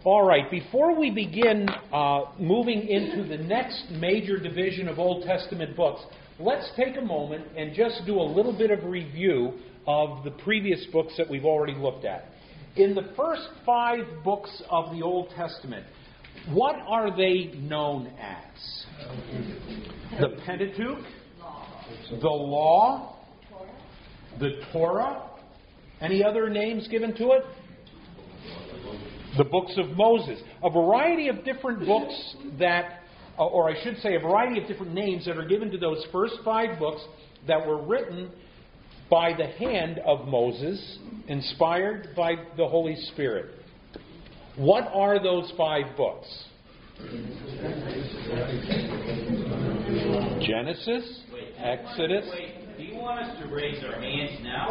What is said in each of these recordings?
All right, before we begin moving into the next major division of Old Testament books, let's take a moment and just do a little bit of review of the previous books that we've already looked at. In the first 5 books of the Old Testament, what are they known as? The Pentateuch, the Law, the Torah. Any other names given to it? The books of Moses. A variety of different books that, or I should say a variety of different names that are given to those first 5 books that were written by the hand of Moses, inspired by the Holy Spirit. What are those 5 books? Genesis, Exodus. Wait, do you want us to raise our hands now?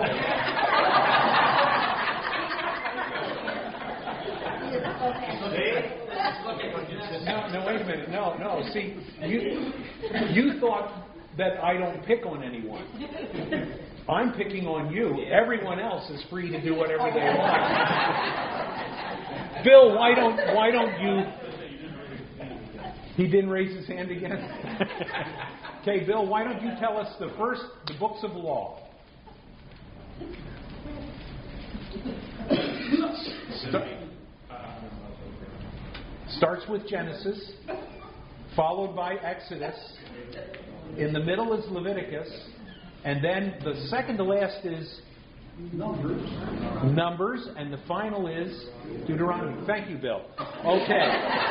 No, wait a minute. No. See, you thought that I don't pick on anyone. I'm picking on you. Everyone else is free to do whatever they want. Bill, why don't you? He didn't raise his hand again. Okay, Bill, why don't you tell us the books of law? Starts with Genesis, followed by Exodus. In the middle is Leviticus. And then the second to last is Numbers. And the final is Deuteronomy. Thank you, Bill. Okay.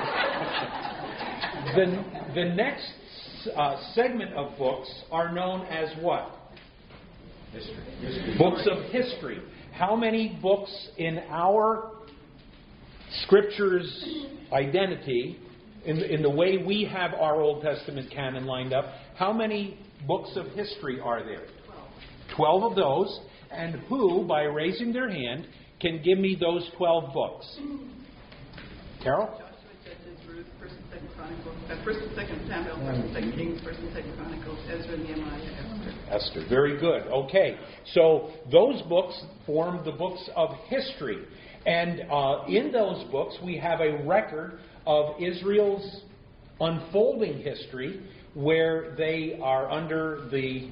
The next segment of books are known as what? History. Books of history. How many books in our Scripture's identity, in the way we have our Old Testament canon lined up, how many books of history are there? 12 of those. And who, by raising their hand, can give me those 12 books? Carol? Joshua, Judges, Ruth, 1st and 2nd Chronicles, 1st and 2nd Samuel, 1st and 2nd Kings, 1st and 2nd Chronicles, Ezra, Nehemiah, Esther. Esther. Very good. Okay. So those books form the books of history. And in those books, we have a record of Israel's unfolding history, where they are under the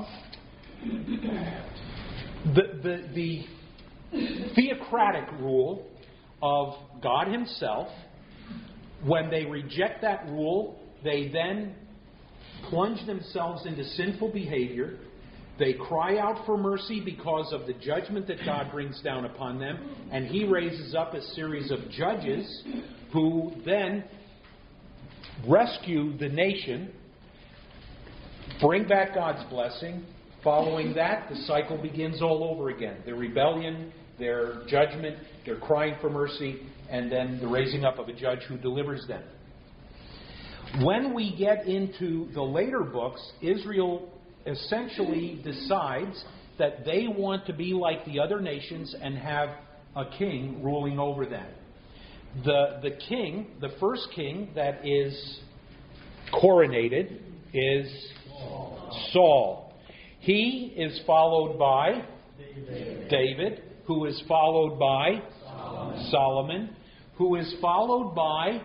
theocratic rule of God Himself. When they reject that rule, they then plunge themselves into sinful behavior. They cry out for mercy because of the judgment that God brings down upon them. And He raises up a series of judges who then rescue the nation, bring back God's blessing. Following that, the cycle begins all over again. Their rebellion, their judgment, their crying for mercy, and then the raising up of a judge who delivers them. When we get into the later books, Israel essentially decides that they want to be like the other nations and have a king ruling over them. The king, the first king that is coronated is Saul. He is followed by David, who is followed by Solomon, who is followed by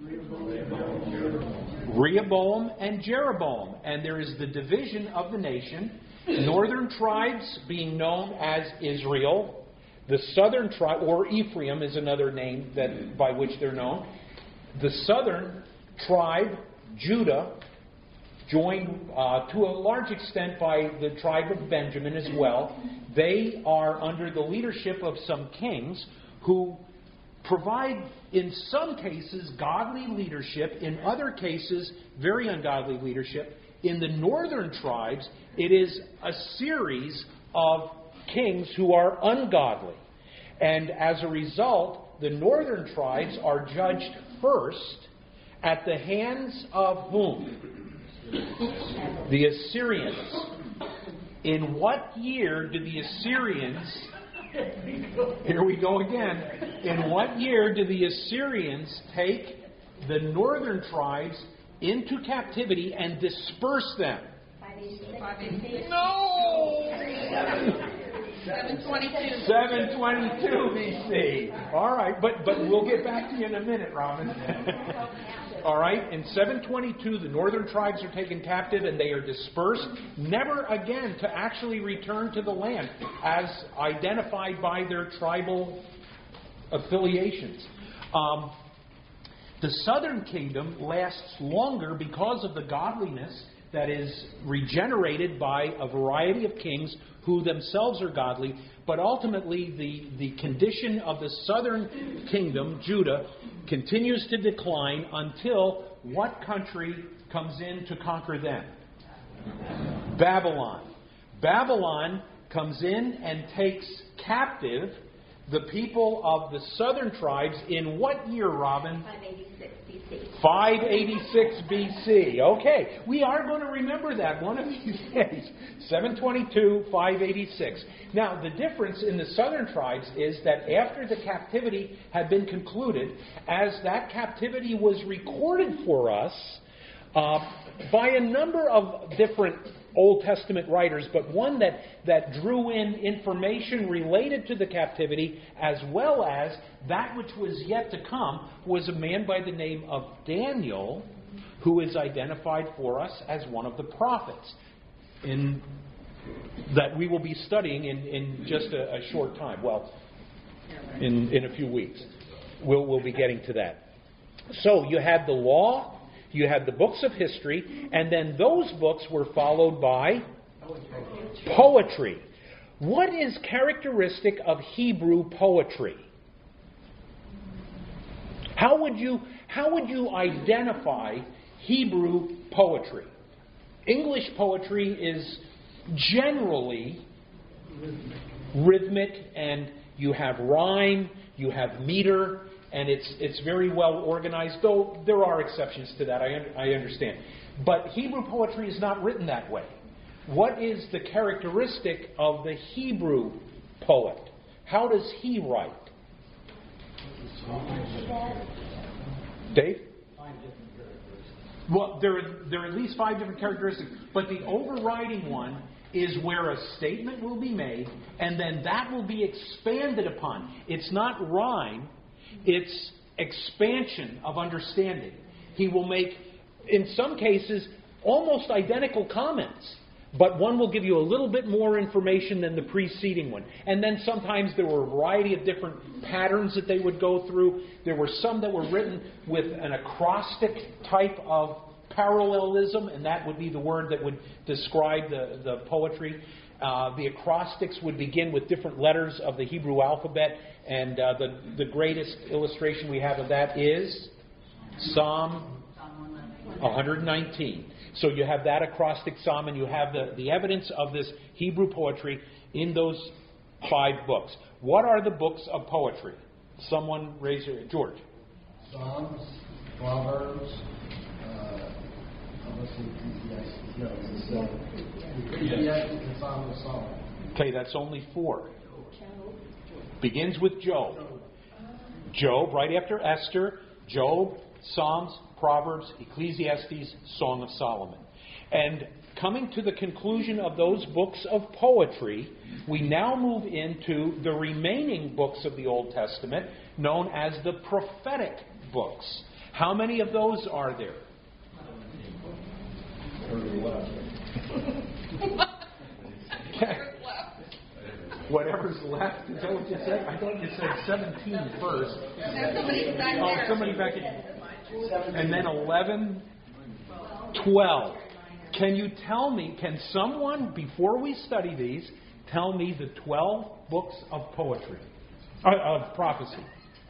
Rehoboam and Jeroboam. And there is the division of the nation. Northern tribes being known as Israel. The southern tribe, or Ephraim is another name by which they're known. The southern tribe, Judah, joined to a large extent by the tribe of Benjamin as well. They are under the leadership of some kings who provide, in some cases, godly leadership. In other cases, very ungodly leadership. In the northern tribes, it is a series of kings who are ungodly. And as a result, the northern tribes are judged first at the hands of whom? The Assyrians. In what year did the Assyrians... Here we go again. In what year did the Assyrians take the northern tribes into captivity and disperse them? No! 722. 722 BC. All right, but we'll get back to you in a minute, Robin. All right, in 722, the northern tribes are taken captive and they are dispersed, never again to actually return to the land as identified by their tribal affiliations. The southern kingdom lasts longer because of the godliness that is regenerated by a variety of kings who themselves are godly, but ultimately the condition of the southern kingdom, Judah, continues to decline until what country comes in to conquer them? Babylon. Babylon comes in and takes captive the people of the southern tribes in what year, Robin? 586 BC. 586 BC. Okay, we are going to remember that one of these days. 722, 586. Now, the difference in the southern tribes is that after the captivity had been concluded, as that captivity was recorded for us by a number of different Old Testament writers, but one that drew in information related to the captivity as well as that which was yet to come, was a man by the name of Daniel, who is identified for us as one of the prophets that we will be studying in just a short time. Well, in a few weeks. We'll be getting to that. So you had the law, you had the books of history, and then those books were followed by poetry. What is characteristic of Hebrew poetry? How would you identify Hebrew poetry? English poetry is generally rhythmic, and you have rhyme, you have meter, and it's very well organized, though there are exceptions to that, I understand. But Hebrew poetry is not written that way. What is the characteristic of the Hebrew poet? How does he write? Dave? Well, there are at least 5 different characteristics, but the overriding one is where a statement will be made, and then that will be expanded upon. It's not rhyme. It's expansion of understanding. He will make, in some cases, almost identical comments, but one will give you a little bit more information than the preceding one. And then sometimes there were a variety of different patterns that they would go through. There were some that were written with an acrostic type of parallelism, and that would be the word that would describe the poetry. The acrostics would begin with different letters of the Hebrew alphabet, and the greatest illustration we have of that is Psalm 119. So you have that acrostic psalm, and you have the evidence of this Hebrew poetry in those 5 books. What are the books of poetry? Someone raise your hand. George. Psalms, Proverbs, Ecclesiastes and Song of Solomon. Okay, that's only 4. Begins with Job. Job, right after Esther, Job, Psalms, Proverbs, Ecclesiastes, Song of Solomon. And coming to the conclusion of those books of poetry, we now move into the remaining books of the Old Testament, known as the prophetic books. How many of those are there? Whatever's left. Is that what you said? I thought you said 17 first. Somebody back in. And then 11, 12. Can you tell me, can someone, before we study these, tell me the 12 books of poetry, of prophecy?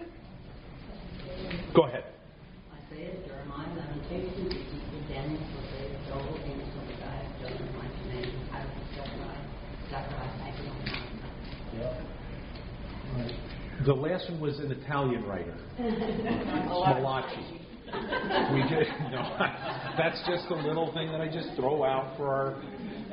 Go ahead. Isaiah, Jeremiah, Lamentations, Daniel, Joel, Amos, Obadiah, Jonah, Micah, Nahum, Zechariah, The last one was an Italian writer, Malachi. That's just a little thing that I just throw out for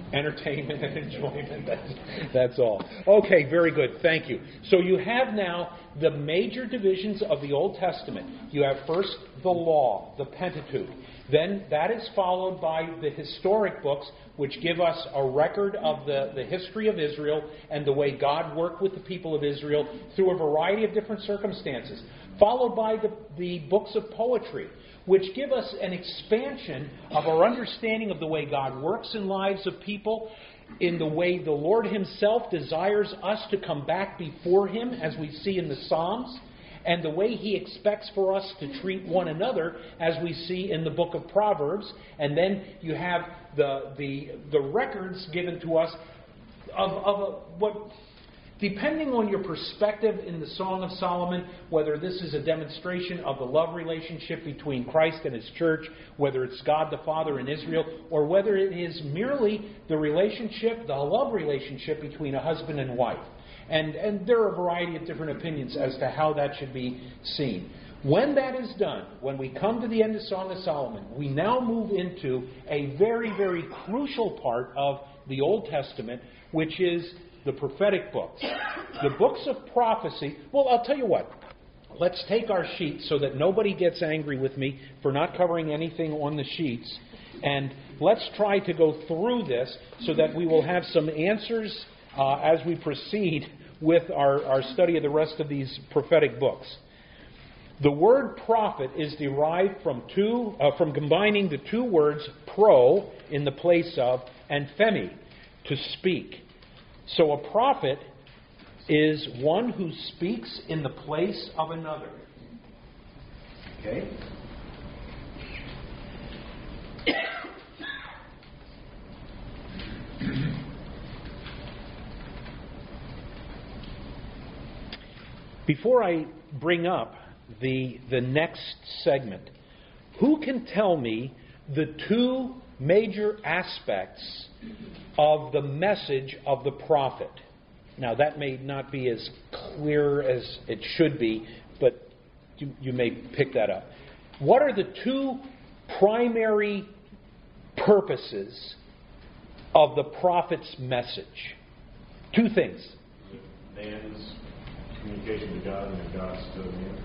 Entertainment and enjoyment. That's all. Okay, very good. Thank you. So you have now the major divisions of the Old Testament. You have first the law, the Pentateuch. Then that is followed by the historic books, which give us a record of the history of Israel and the way God worked with the people of Israel through a variety of different circumstances. Followed by the books of poetry, which give us an expansion of our understanding of the way God works in lives of people, in the way the Lord Himself desires us to come back before Him, as we see in the Psalms, and the way He expects for us to treat one another, as we see in the book of Proverbs. And then you have the records given to us of what... Depending on your perspective in the Song of Solomon, whether this is a demonstration of the love relationship between Christ and His church, whether it's God the Father and Israel, or whether it is merely the relationship, the love relationship between a husband and wife. And there are a variety of different opinions as to how that should be seen. When that is done, when we come to the end of Song of Solomon, we now move into a very, very crucial part of the Old Testament, which is the prophetic books. The books of prophecy. Well, I'll tell you what. Let's take our sheets so that nobody gets angry with me for not covering anything on the sheets. And let's try to go through this so that we will have some answers as we proceed with our study of the rest of these prophetic books. The word prophet is derived from combining the two words pro, in the place of, and femi, to speak. So a prophet is one who speaks in the place of another. Okay? Before I bring up the next segment, who can tell me the two major aspects of the message of the prophet? Now, that may not be as clear as it should be, but you may pick that up. What are the two primary purposes of the prophet's message? Two things. Man's communication to God and God's to man.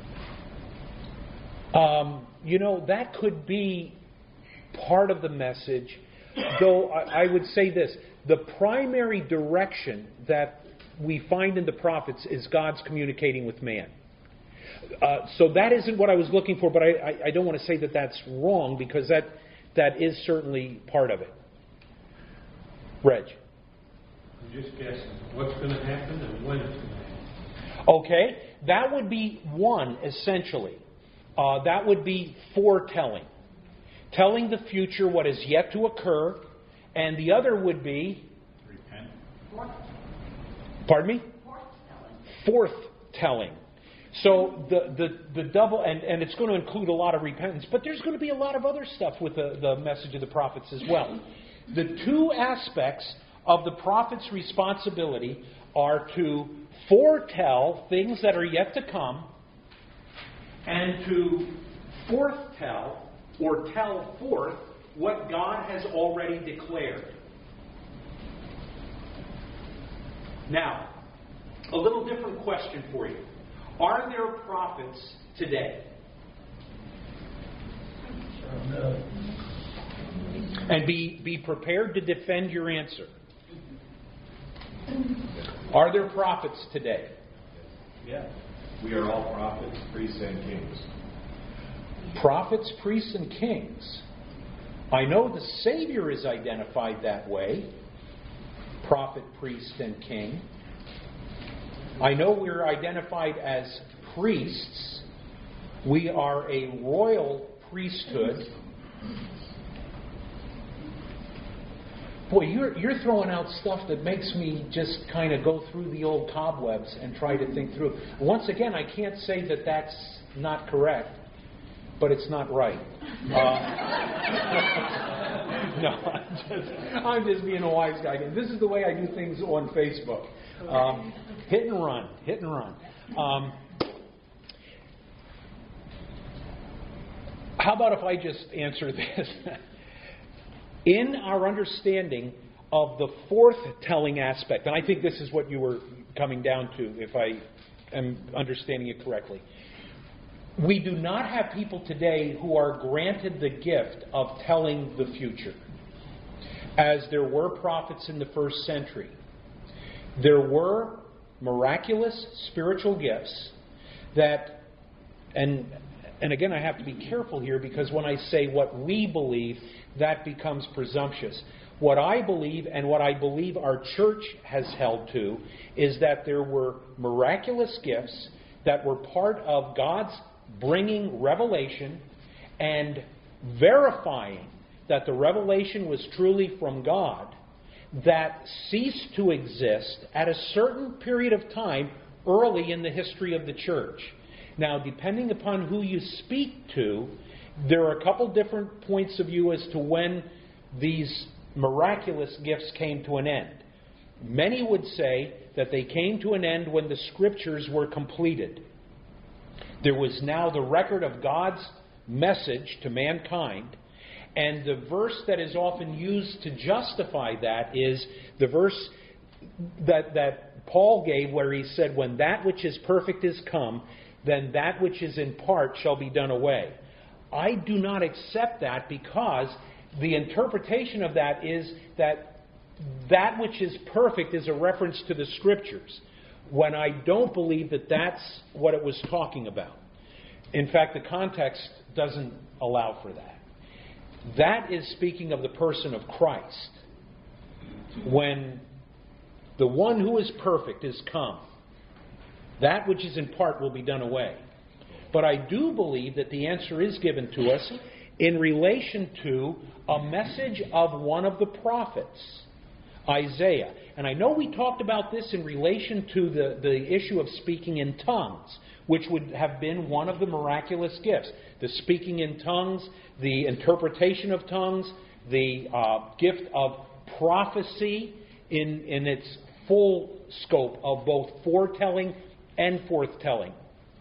That could be part of the message, though I would say this. The primary direction that we find in the prophets is God's communicating with man. So that isn't what I was looking for, but I don't want to say that that's wrong, because that is certainly part of it. Reg. I'm just guessing what's going to happen and when it's going to happen. Okay, that would be one, essentially. That would be foretelling. Telling the future what is yet to occur. And the other would be... Repent. Pardon me? Forthtelling. So the double... And it's going to include a lot of repentance. But there's going to be a lot of other stuff with the message of the prophets as well. The two aspects of the prophet's responsibility are to foretell things that are yet to come, and to forthtell, or tell forth, what God has already declared. Now, a little different question for you. Are there prophets today? No. And be prepared to defend your answer. Are there prophets today? Yeah. We are all prophets, priests, and kings. Prophets, priests, and kings. I know the Savior is identified that way. Prophet, priest, and king. I know we're identified as priests. We are a royal priesthood. Boy, you're throwing out stuff that makes me just kind of go through the old cobwebs and try to think through. Once again, I can't say that that's not correct, but it's not right. No, I'm just being a wise guy. This is the way I do things on Facebook. Hit and run. How about if I just answer this? In our understanding of the forth-telling aspect, and I think this is what you were coming down to, if I am understanding it correctly. We do not have people today who are granted the gift of telling the future, as there were prophets in the first century. There were miraculous spiritual gifts that, and again I have to be careful here, because when I say what we believe, that becomes presumptuous. What I believe, and what I believe our church has held to, is that there were miraculous gifts that were part of God's bringing revelation and verifying that the revelation was truly from God, that ceased to exist at a certain period of time early in the history of the church. Now, depending upon who you speak to, there are a couple different points of view as to when these miraculous gifts came to an end. Many would say that they came to an end when the Scriptures were completed. There was now the record of God's message to mankind, and the verse that is often used to justify that is the verse that Paul gave, where he said, "When that which is perfect is come, then that which is in part shall be done away." I do not accept that, because the interpretation of that is that which is perfect is a reference to the Scriptures, when I don't believe that that's what it was talking about. In fact, the context doesn't allow for that. That is speaking of the person of Christ. When the one who is perfect is come, that which is in part will be done away. But I do believe that the answer is given to us in relation to a message of one of the prophets, Isaiah. And I know we talked about this in relation to the issue of speaking in tongues, which would have been one of the miraculous gifts. The speaking in tongues, the interpretation of tongues, the gift of prophecy in its full scope of both foretelling and forthtelling.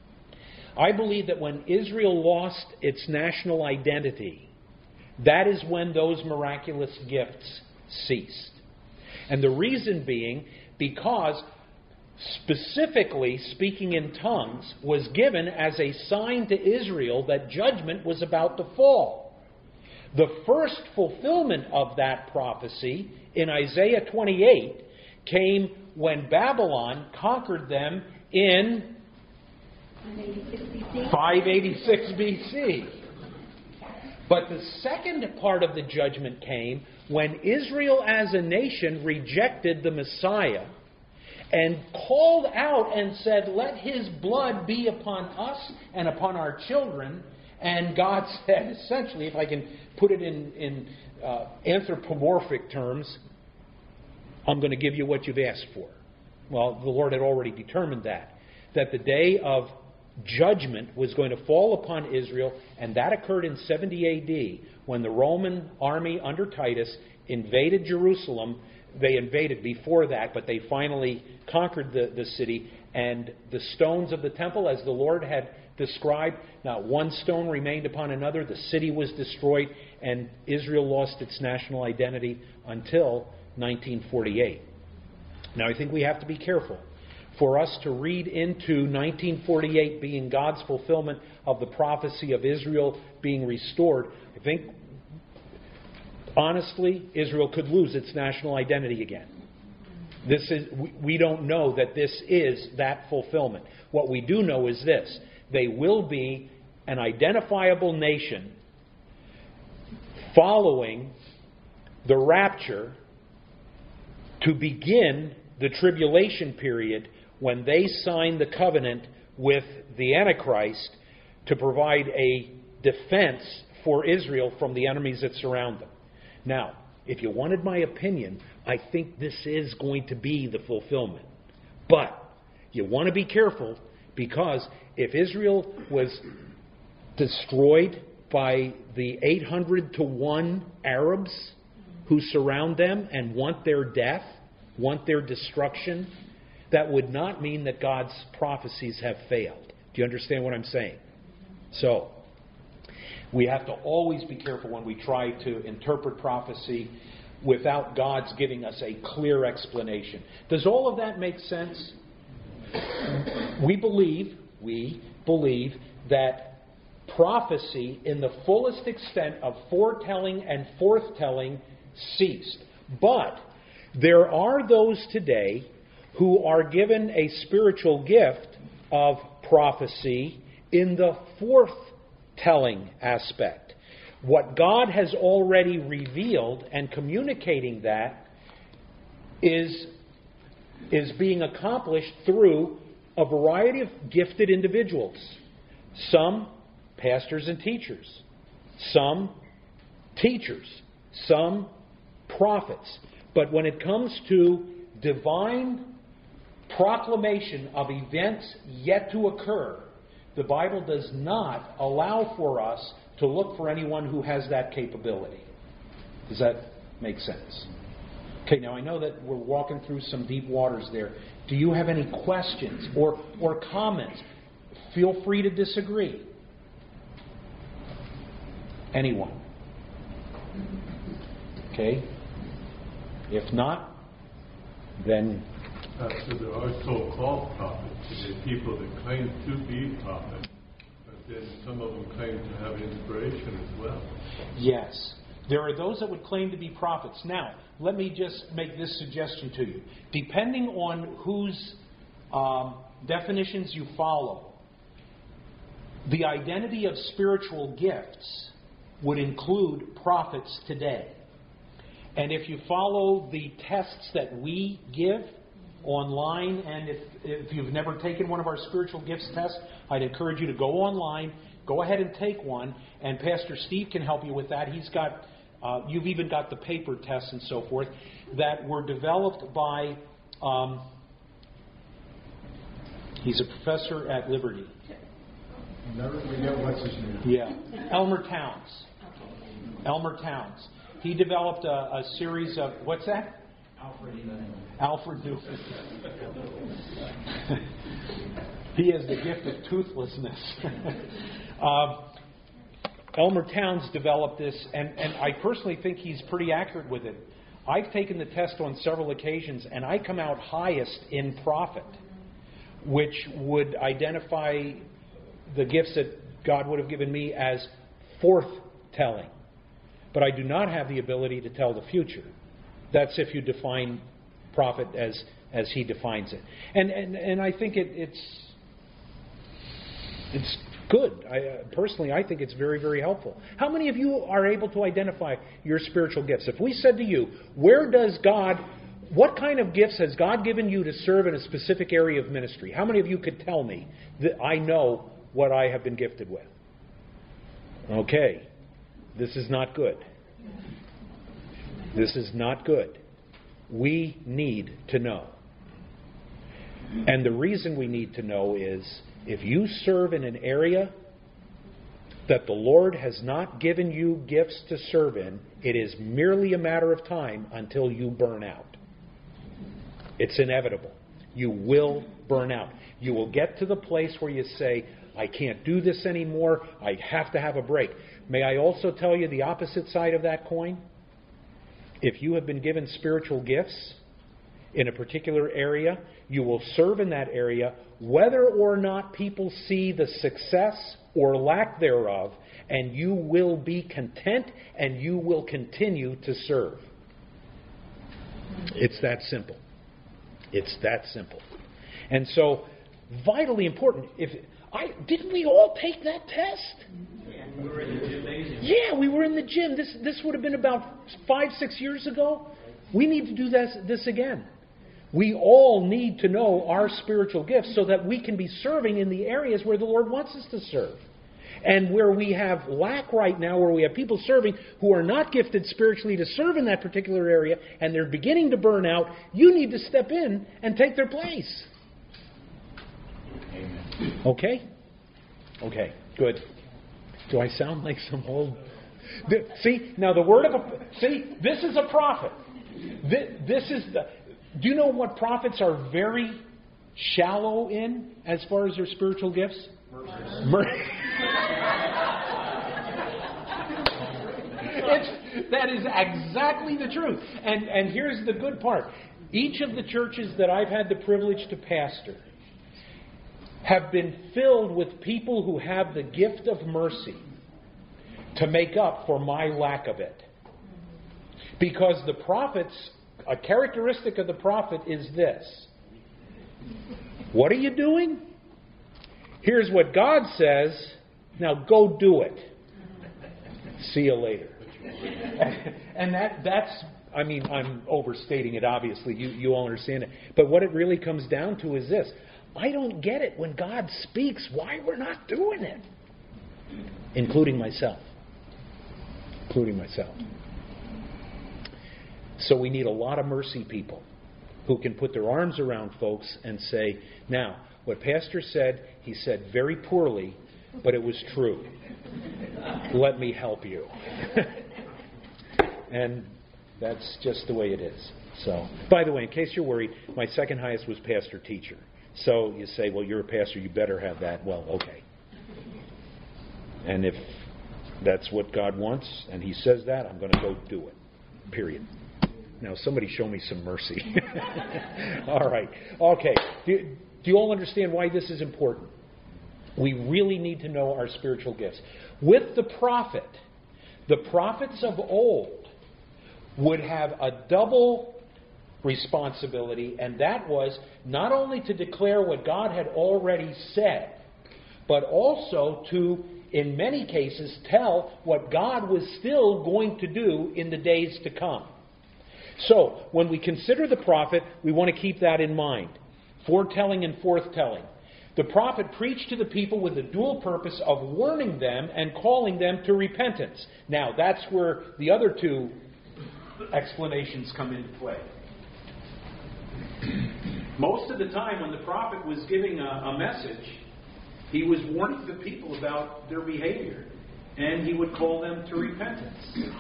I believe that when Israel lost its national identity, that is when those miraculous gifts ceased. And the reason being because specifically speaking in tongues was given as a sign to Israel that judgment was about to fall. The first fulfillment of that prophecy in Isaiah 28 came when Babylon conquered them in 586 BC. But the second part of the judgment came when Israel as a nation rejected the Messiah and called out and said, "Let his blood be upon us and upon our children." And God said, essentially, if I can put it in anthropomorphic terms, "I'm going to give you what you've asked for." Well, the Lord had already determined that the day of judgment was going to fall upon Israel, and that occurred in 70 A.D. when the Roman army under Titus invaded Jerusalem. They invaded before that, but they finally conquered the city, and the stones of the temple, as the Lord had described, not one stone remained upon another. The city was destroyed, and Israel lost its national identity until 1948. Now, I think we have to be careful. For us to read into 1948 being God's fulfillment of the prophecy of Israel being restored, I think, honestly, Israel could lose its national identity again. We don't know that this is that fulfillment. What we do know is this: they will be an identifiable nation following the rapture to begin the tribulation period, when they sign the covenant with the Antichrist to provide a defense for Israel from the enemies that surround them. Now, if you wanted my opinion, I think this is going to be the fulfillment. But you want to be careful, because if Israel was destroyed by the 800 to 1 Arabs who surround them and want their death, want their destruction, that would not mean that God's prophecies have failed. Do you understand what I'm saying? So, we have to always be careful when we try to interpret prophecy. without God's giving us a clear explanation. Does all of that make sense? We believe that prophecy in the fullest extent of foretelling and forthtelling ceased. But there are those today who are given a spiritual gift of prophecy in the forthtelling aspect. What God has already revealed and communicating that is being accomplished through a variety of gifted individuals. Some pastors and teachers, some teachers, some prophets. But when it comes to divine proclamation of events yet to occur, the Bible does not allow for us to look for anyone who has that capability. Does that make sense? Okay, now I know that we're walking through some deep waters there. Do you have any questions or comments? Feel free to disagree. Anyone? Okay? If not, then... So there are so-called prophets. There are people that claim to be prophets, but then some of them claim to have inspiration as well. Yes. There are those that would claim to be prophets. Now, let me just make this suggestion to you. Depending on whose definitions you follow, the identity of spiritual gifts would include prophets today. And if you follow the tests that we give online, and if you've never taken one of our spiritual gifts tests, I'd encourage you to go online, go ahead and take one, and Pastor Steve can help you with that. He's got, you've even got the paper tests and so forth that were developed by, he's a professor at Liberty. Never forget what's his name. Yeah, Elmer Towns. Elmer Towns. He developed a series of, what's that? Alfred Newman. He has the gift of toothlessness. Elmer Towns developed this, and I personally think he's pretty accurate with it. I've taken the test on several occasions, and I come out highest in prophet, which would identify the gifts that God would have given me as forthtelling. But I do not have the ability to tell the future. That's if you define prophet as he defines it. And I think it's good. Personally, I think it's very, very helpful. How many of you are able to identify your spiritual gifts? If we said to you, what kind of gifts has God given you to serve in a specific area of ministry? How many of you could tell me that I know what I have been gifted with? Okay. This is not good. This is not good. We need to know. And the reason we need to know is if you serve in an area that the Lord has not given you gifts to serve in, it is merely a matter of time until you burn out. It's inevitable. You will burn out. You will get to the place where you say, I can't do this anymore. I have to have a break. May I also tell you the opposite side of that coin? If you have been given spiritual gifts in a particular area, you will serve in that area whether or not people see the success or lack thereof, and you will be content and you will continue to serve. It's that simple. It's that simple. And so, vitally important. Didn't we all take that test? We were in the gym. Yeah, we were in the gym. This would have been about 5-6 years ago. We need to do this again. We all need to know our spiritual gifts so that we can be serving in the areas where the Lord wants us to serve. And where we have lack right now, where we have people serving who are not gifted spiritually to serve in that particular area, and they're beginning to burn out, you need to step in and take their place. Amen. Okay? Okay, good. Do I sound like some old... See, now the word of this is a prophet. This is the... Do you know what prophets are very shallow in as far as their spiritual gifts? That is exactly the truth. And here's the good part. Each of the churches that I've had the privilege to pastor have been filled with people who have the gift of mercy to make up for my lack of it. Because the prophets, a characteristic of the prophet is this. What are you doing? Here's what God says. Now go do it. See you later. And that's, I mean, I'm overstating it, obviously. You all understand it. But what it really comes down to is this. I don't get it when God speaks why we're not doing it. Including myself. So we need a lot of mercy people who can put their arms around folks and say, now, what Pastor said, he said very poorly, but it was true. Let me help you. And that's just the way it is. So, by the way, in case you're worried, my second highest was pastor teacher. So you say, well, you're a pastor, you better have that. Well, okay. And if that's what God wants, and He says that, I'm going to go do it. Period. Now, somebody show me some mercy. All right. Okay. Do you all understand why this is important? We really need to know our spiritual gifts. With the prophet, the prophets of old would have a double responsibility, and that was not only to declare what God had already said, but also to, in many cases, tell what God was still going to do in the days to come. So, when we consider the prophet, we want to keep that in mind. Foretelling and forthtelling. The prophet preached to the people with the dual purpose of warning them and calling them to repentance. Now, that's where the other two explanations come into play. Most of the time when the prophet was giving a message, he was warning the people about their behavior, and he would call them to repentance.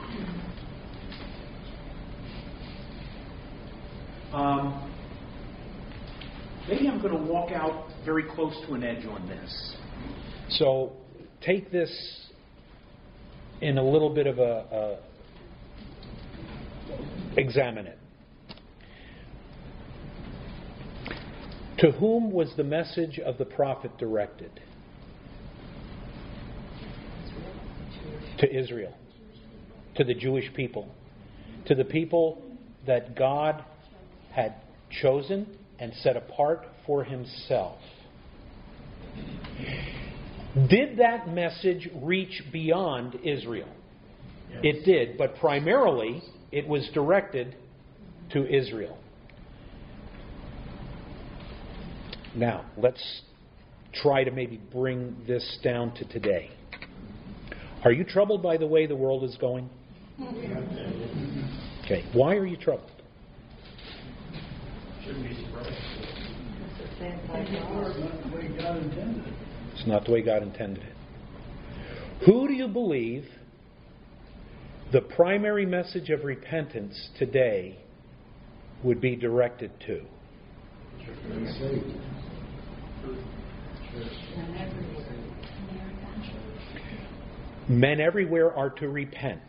Maybe I'm going to walk out very close to an edge on this. So take this in a little bit of examine it. To whom was the message of the prophet directed? To Israel. To the Jewish people. To the people that God had chosen and set apart for Himself. Did that message reach beyond Israel? Yes. It did, but primarily it was directed to Israel. Now, let's try to maybe bring this down to today. Are you troubled by the way the world is going? Okay, why are you troubled? Shouldn't be surprised. It's not the way God intended it. Who do you believe the primary message of repentance today would be directed to? Men everywhere are to repent.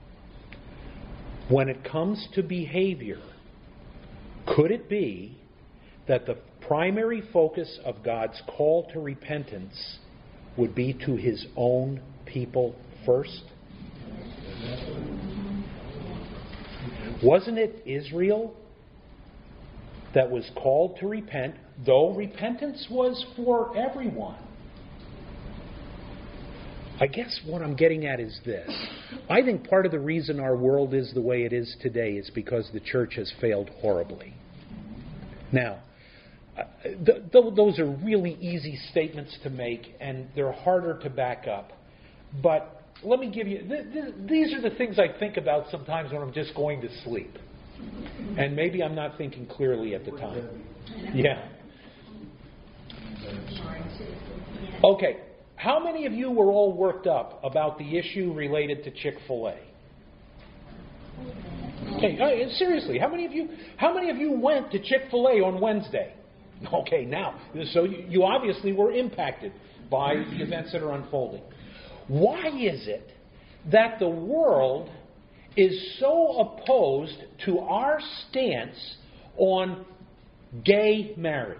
When it comes to behavior, could it be that the primary focus of God's call to repentance would be to His own people first? Wasn't it Israel that was called to repent, though repentance was for everyone? I guess what I'm getting at is this. I think part of the reason our world is the way it is today is because the church has failed horribly. Now, those are really easy statements to make, and they're harder to back up. But let me give you... These are the things I think about sometimes when I'm just going to sleep. And maybe I'm not thinking clearly at the time. Yeah. Okay. How many of you were all worked up about the issue related to Chick-fil-A? Okay, seriously, how many of you went to Chick-fil-A on Wednesday? Okay, now, so you obviously were impacted by the events that are unfolding. Why is it that the world is so opposed to our stance on gay marriage.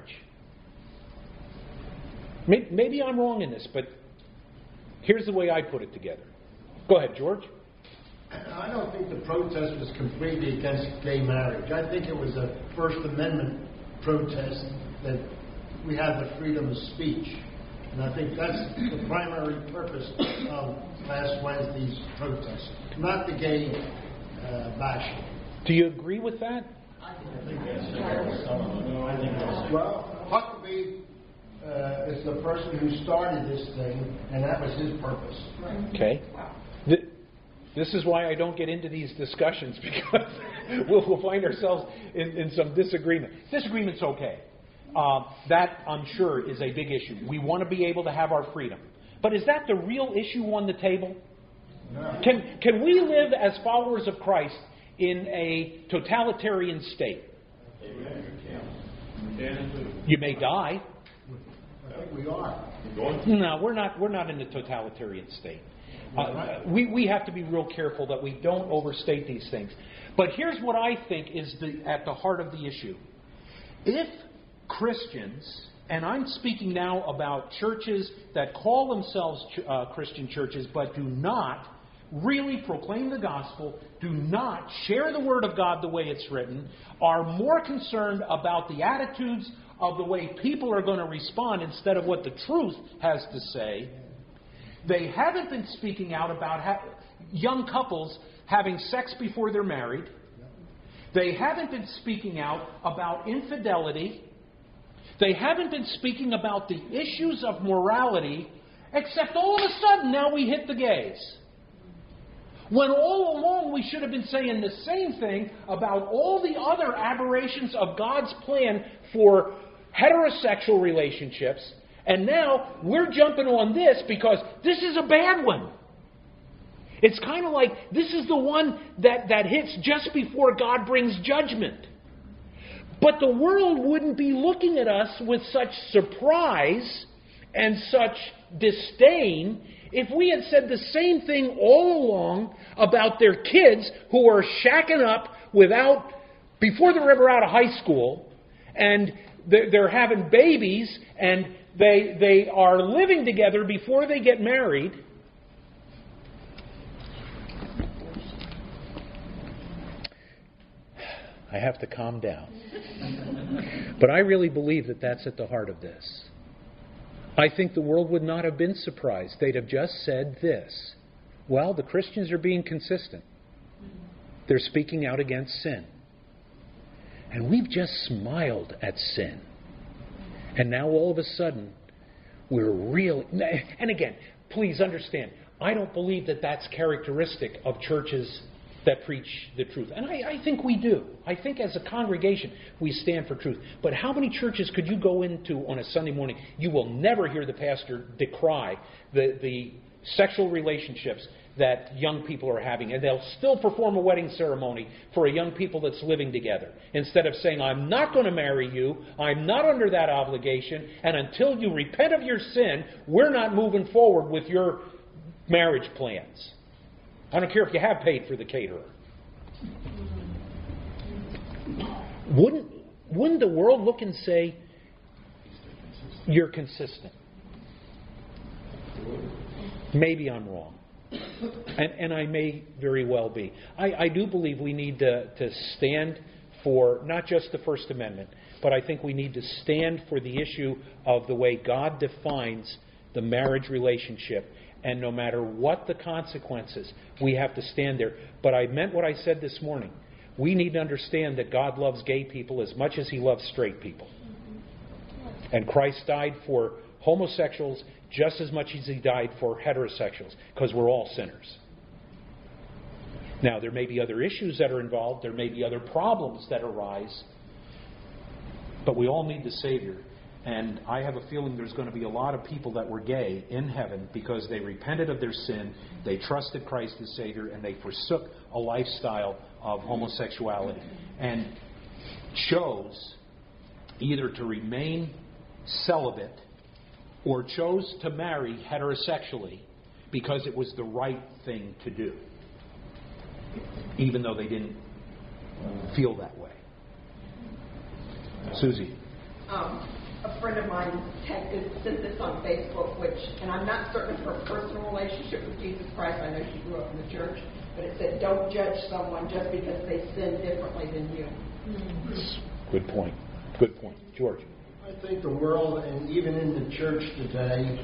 Maybe I'm wrong in this, but here's the way I put it together. Go ahead, George. I don't think the protest was completely against gay marriage. I think it was a First Amendment protest that we have the freedom of speech. And I think that's the primary purpose of last Wednesday's protest, not the gay bashing. Do you agree with that? Well, Huckabee is the person who started this thing, and that was his purpose. Okay. This is why I don't get into these discussions, because we'll find ourselves in some disagreement. Disagreement's okay. That, I'm sure, is a big issue. We want to be able to have our freedom. But is that the real issue on the table? No. Can we live as followers of Christ in a totalitarian state? You may die. I think we are. No, we're not in a totalitarian state. We have to be real careful that we don't overstate these things. But here's what I think is at the heart of the issue. If Christians, and I'm speaking now about churches that call themselves Christian churches but do not really proclaim the gospel, do not share the Word of God the way it's written, are more concerned about the attitudes of the way people are going to respond instead of what the truth has to say. They haven't been speaking out about young couples having sex before they're married. They haven't been speaking out about infidelity. They haven't been speaking about the issues of morality, except all of a sudden now we hit the gays. When all along we should have been saying the same thing about all the other aberrations of God's plan for heterosexual relationships. And now we're jumping on this because this is a bad one. It's kind of like this is the one that hits just before God brings judgment. But the world wouldn't be looking at us with such surprise and such disdain if we had said the same thing all along about their kids who are shacking up before they're ever out of high school, and they're having babies, and they are living together before they get married. I have to calm down. But I really believe that that's at the heart of this. I think the world would not have been surprised. They'd have just said this. Well, the Christians are being consistent. They're speaking out against sin. And we've just smiled at sin. And now all of a sudden, we're really... And again, please understand, I don't believe that that's characteristic of churches that preach the truth. And I think we do. I think as a congregation, we stand for truth. But how many churches could you go into on a Sunday morning? You will never hear the pastor decry the sexual relationships that young people are having. And they'll still perform a wedding ceremony for a young people that's living together. Instead of saying, I'm not going to marry you, I'm not under that obligation, and until you repent of your sin, we're not moving forward with your marriage plans. I don't care if you have paid for the caterer. Wouldn't the world look and say, you're consistent? Maybe I'm wrong. And I may very well be. I do believe we need to stand for not just the First Amendment, but I think we need to stand for the issue of the way God defines the marriage relationship. And no matter what the consequences, we have to stand there. But I meant what I said this morning. We need to understand that God loves gay people as much as He loves straight people. And Christ died for homosexuals just as much as He died for heterosexuals, because we're all sinners. Now, there may be other issues that are involved. There may be other problems that arise. But we all need the Savior. And I have a feeling there's going to be a lot of people that were gay in heaven because they repented of their sin, they trusted Christ as Savior, and they forsook a lifestyle of homosexuality and chose either to remain celibate or chose to marry heterosexually because it was the right thing to do. even though they didn't feel that way. Susie. A friend of mine sent this on Facebook, and I'm not certain of her personal relationship with Jesus Christ. I know she grew up in the church, but it said, "Don't judge someone just because they sin differently than you." Good point. Good point. George. I think the world, and even in the church today,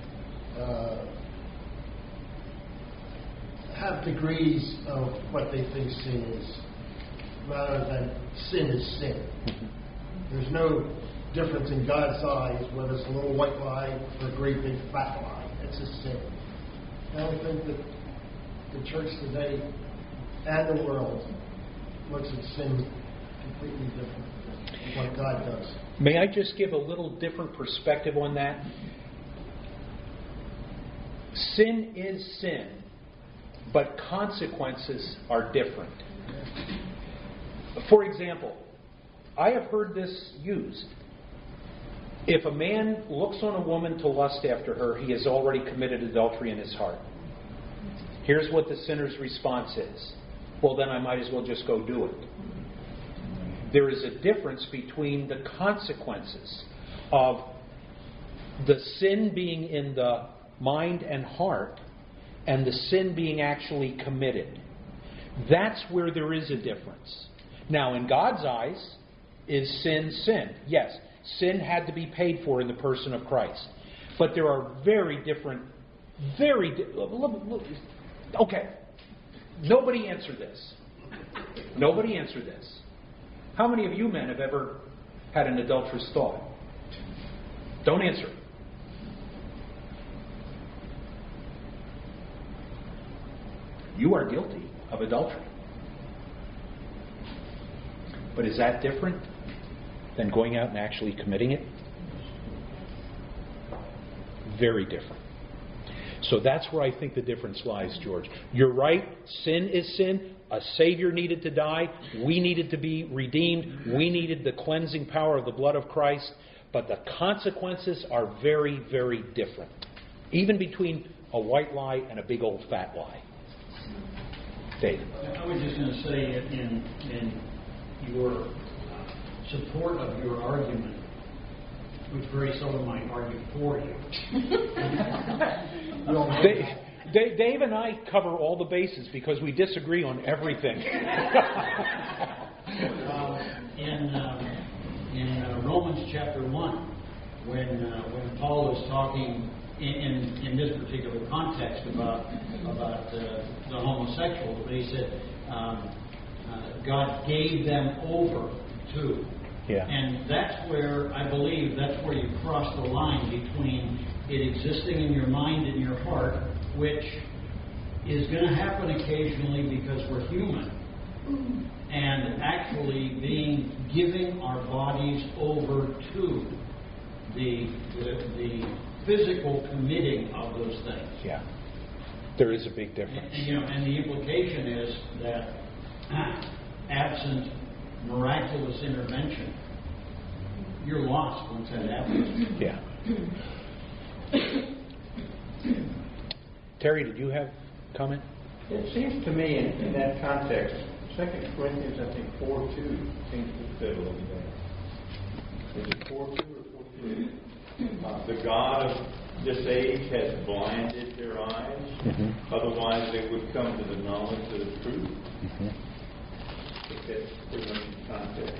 have degrees of what they think sin is, rather than sin is sin. There's no difference in God's eyes whether it's a little white lie or a great big fat lie. It's a sin. And I think that the church today and the world looks at sin completely different than what God does. May I just give a little different perspective on that? Sin is sin, but consequences are different. For example, I have heard this used. If a man looks on a woman to lust after her, he has already committed adultery in his heart. Here's what the sinner's response is. Well, then I might as well just go do it. There is a difference between the consequences of the sin being in the mind and heart and the sin being actually committed. That's where there is a difference. Now, in God's eyes, is sin sin? Yes. Sin had to be paid for in the person of Christ. But there are very different, okay. Nobody answer this. Nobody answer this. How many of you men have ever had an adulterous thought? Don't answer. You are guilty of adultery. But is that different than going out and actually committing it? Very different. So that's where I think the difference lies, George. You're right. Sin is sin. A Savior needed to die. We needed to be redeemed. We needed the cleansing power of the blood of Christ. But the consequences are very, very different. Even between a white lie and a big old fat lie. Dave. I was just going to say in your support of your argument, which very seldom might argue for you. Dave and I cover all the bases because we disagree on everything. In Romans chapter 1, when Paul is talking in this particular context about the homosexual, but he said God gave them over to. Yeah. And that's where, I believe, that's where you cross the line between it existing in your mind and your heart, which is going to happen occasionally because we're human, and actually giving our bodies over to the physical committing of those things. Yeah. There is a big difference. And the implication is that absent miraculous intervention, you're lost once that happens. Yeah. Terry, did you have a comment? It seems to me in that context, 2 Corinthians, I think 4:2 seems to fit a little bit. Is it 4:2 or 4:3? The God of this age has blinded their eyes, otherwise they would come to the knowledge of the truth. That's pretty much the context.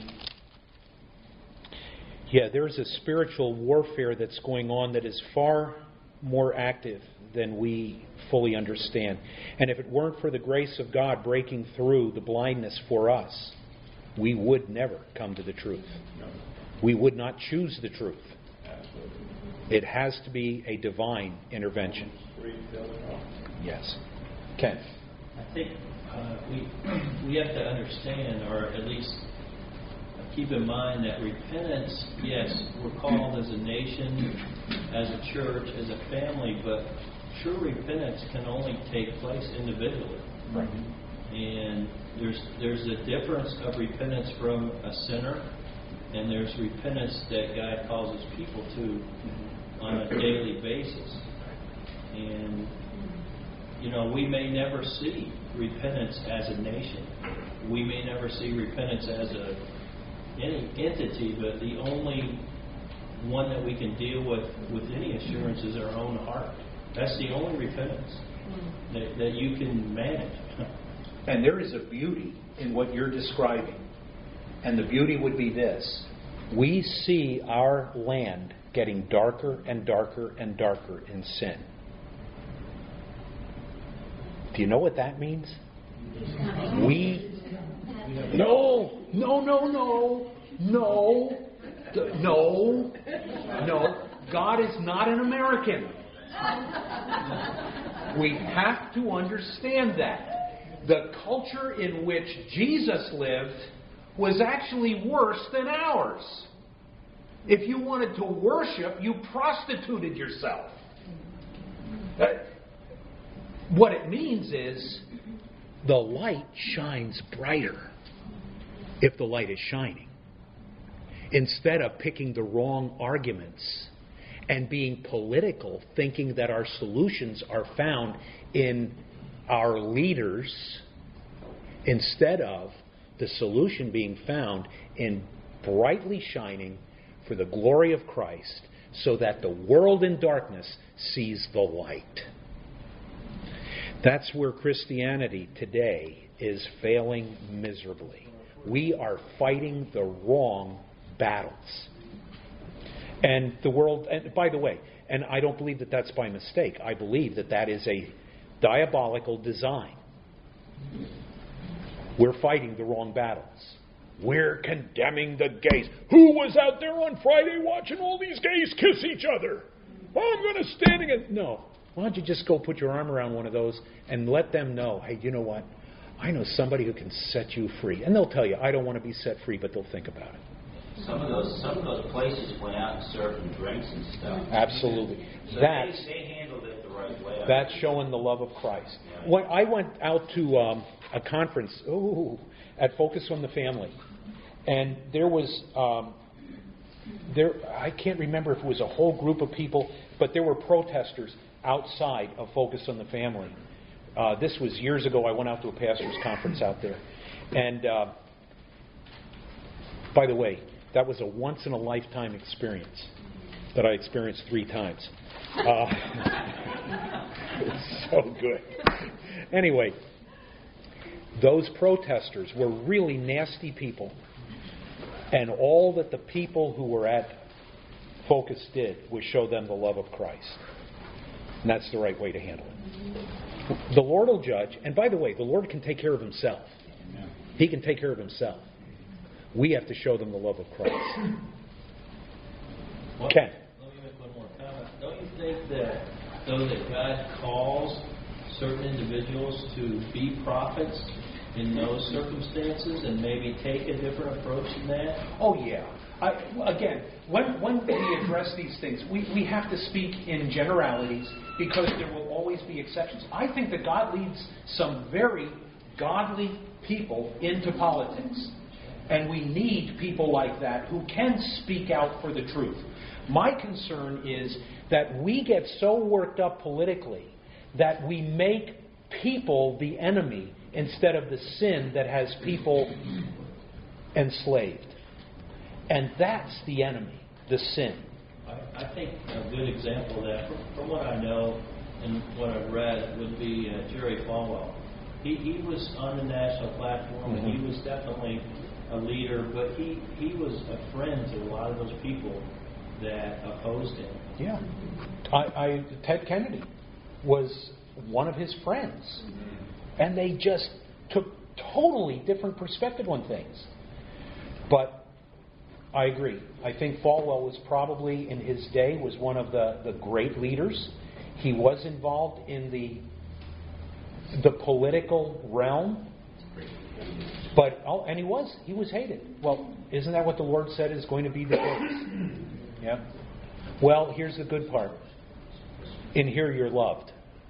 Yeah, there's a spiritual warfare that's going on that is far more active than we fully understand. And if it weren't for the grace of God breaking through the blindness for us, we would never come to the truth. We would not choose the truth. It has to be a divine intervention. Yes. Ken. I think we have to understand, or at least keep in mind, that repentance, yes, we're called as a nation, as a church, as a family, but true repentance can only take place individually. Right. And there's a difference of repentance from a sinner, and there's repentance that God calls His people to on a daily basis. And we may never see repentance as a nation. We may never see repentance as any entity, but the only one that we can deal with any assurance is our own heart. That's the only repentance that you can manage. And there is a beauty in what you're describing. And the beauty would be this. We see our land getting darker and darker and darker in sin. Do you know what that means? No. God is not an American. We have to understand that. The culture in which Jesus lived was actually worse than ours. If you wanted to worship, you prostituted yourself. What it means is the light shines brighter if the light is shining. Instead of picking the wrong arguments and being political, thinking that our solutions are found in our leaders, instead of the solution being found in brightly shining for the glory of Christ, so that the world in darkness sees the light. That's where Christianity today is failing miserably. We are fighting the wrong battles. And the world, and by the way, and I don't believe that that's by mistake. I believe that that is a diabolical design. We're fighting the wrong battles. We're condemning the gays. Who was out there on Friday watching all these gays kiss each other? Oh, I'm going to stand against... No. Why don't you just go put your arm around one of those and let them know, hey, you know what? I know somebody who can set you free. And they'll tell you, I don't want to be set free, but they'll think about it. Some of those places went out and served them drinks and stuff. Absolutely. So they handled it the right way. That's showing the love of Christ. When I went out to a conference at Focus on the Family, and there was I can't remember if it was a whole group of people, but there were protesters outside of Focus on the Family. This was years ago. I went out to a pastor's conference out there, and by the way, that was a once-in-a-lifetime experience that I experienced 3 times. It's so good. Anyway, those protesters were really nasty people. And all that the people who were at Focus did was show them the love of Christ. And that's the right way to handle it. The Lord will judge. And by the way, the Lord can take care of Himself. He can take care of Himself. We have to show them the love of Christ. Ken. Let me make one more comment. Don't you think that though that God calls certain individuals to be prophets in those circumstances and maybe take a different approach than that? Oh, yeah. Again, when we address these things, we have to speak in generalities because there will always be exceptions. I think that God leads some very godly people into politics. And we need people like that who can speak out for the truth. My concern is that we get so worked up politically that we make people the enemy instead of the sin that has people enslaved. And that's the enemy, the sin. I think a good example of that, from what I know and what I've read, would be Jerry Falwell. He was on the national platform, and he was definitely a leader, but he was a friend to a lot of those people that opposed him. Yeah. Ted Kennedy was one of his friends. And they just took totally different perspective on things. But I agree. I think Falwell was probably, in his day, was one of the great leaders. He was involved in the political realm. But and he was hated. Well, isn't that what the Lord said is going to be the case? Yeah. Well, here's the good part. In here you're loved.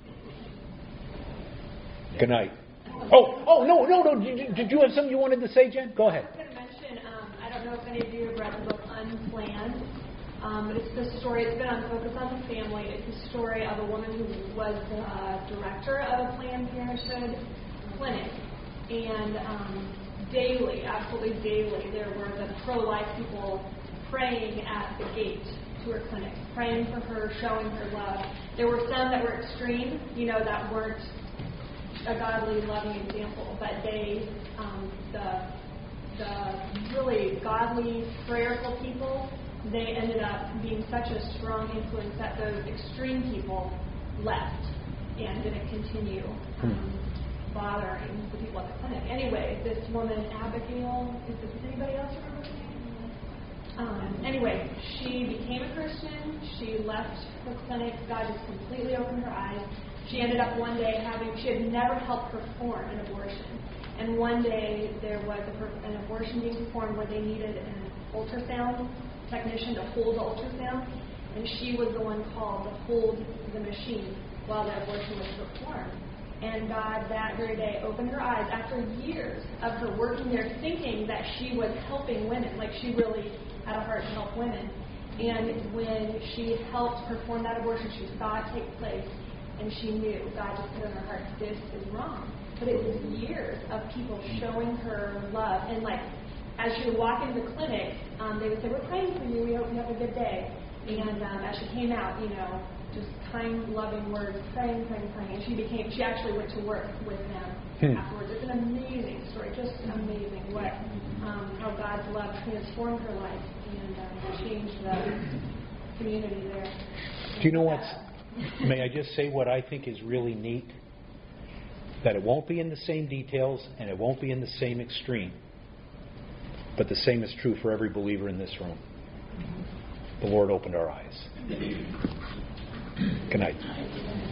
Good night. Oh, no. Did you have something you wanted to say, Jen? Go ahead. I was going to mention, I don't know if any of you have read the book Unplanned. But it's the story, it's been on Focus on the Family. It's the story of a woman who was the director of a Planned Parenthood clinic. And daily, absolutely daily, there were the pro-life people praying at the gate to her clinic, praying for her, showing her love. There were some that were extreme, that weren't a godly, loving example, but they, the really godly, prayerful people, they ended up being such a strong influence that those extreme people left and didn't continue bothering the people at the clinic. Anyway, this woman, Abigail, does anybody else remember her name? Anyway, she became a Christian. She left the clinic. God just completely opened her eyes. She ended up one day she had never helped perform an abortion. And one day there was an abortion being performed where they needed an ultrasound technician to hold the ultrasound. And she was the one called to hold the machine while the abortion was performed. And God that very day opened her eyes after years of her working there thinking that she was helping women, like she really had a heart to help women. And when she helped perform that abortion, she saw it take place, and she knew, God just put in her heart, this is wrong. But it was years of people showing her love. And like, as she would walk into the clinic, they would say, we're praying for you, we hope you have a good day. And as she came out, just kind, loving words, praying. And she actually went to work with them afterwards. It's an amazing story, just amazing what how God's love transformed her life and changed the community there. Do you know what's... May I just say what I think is really neat? That it won't be in the same details and it won't be in the same extreme. But the same is true for every believer in this room. The Lord opened our eyes. Good night.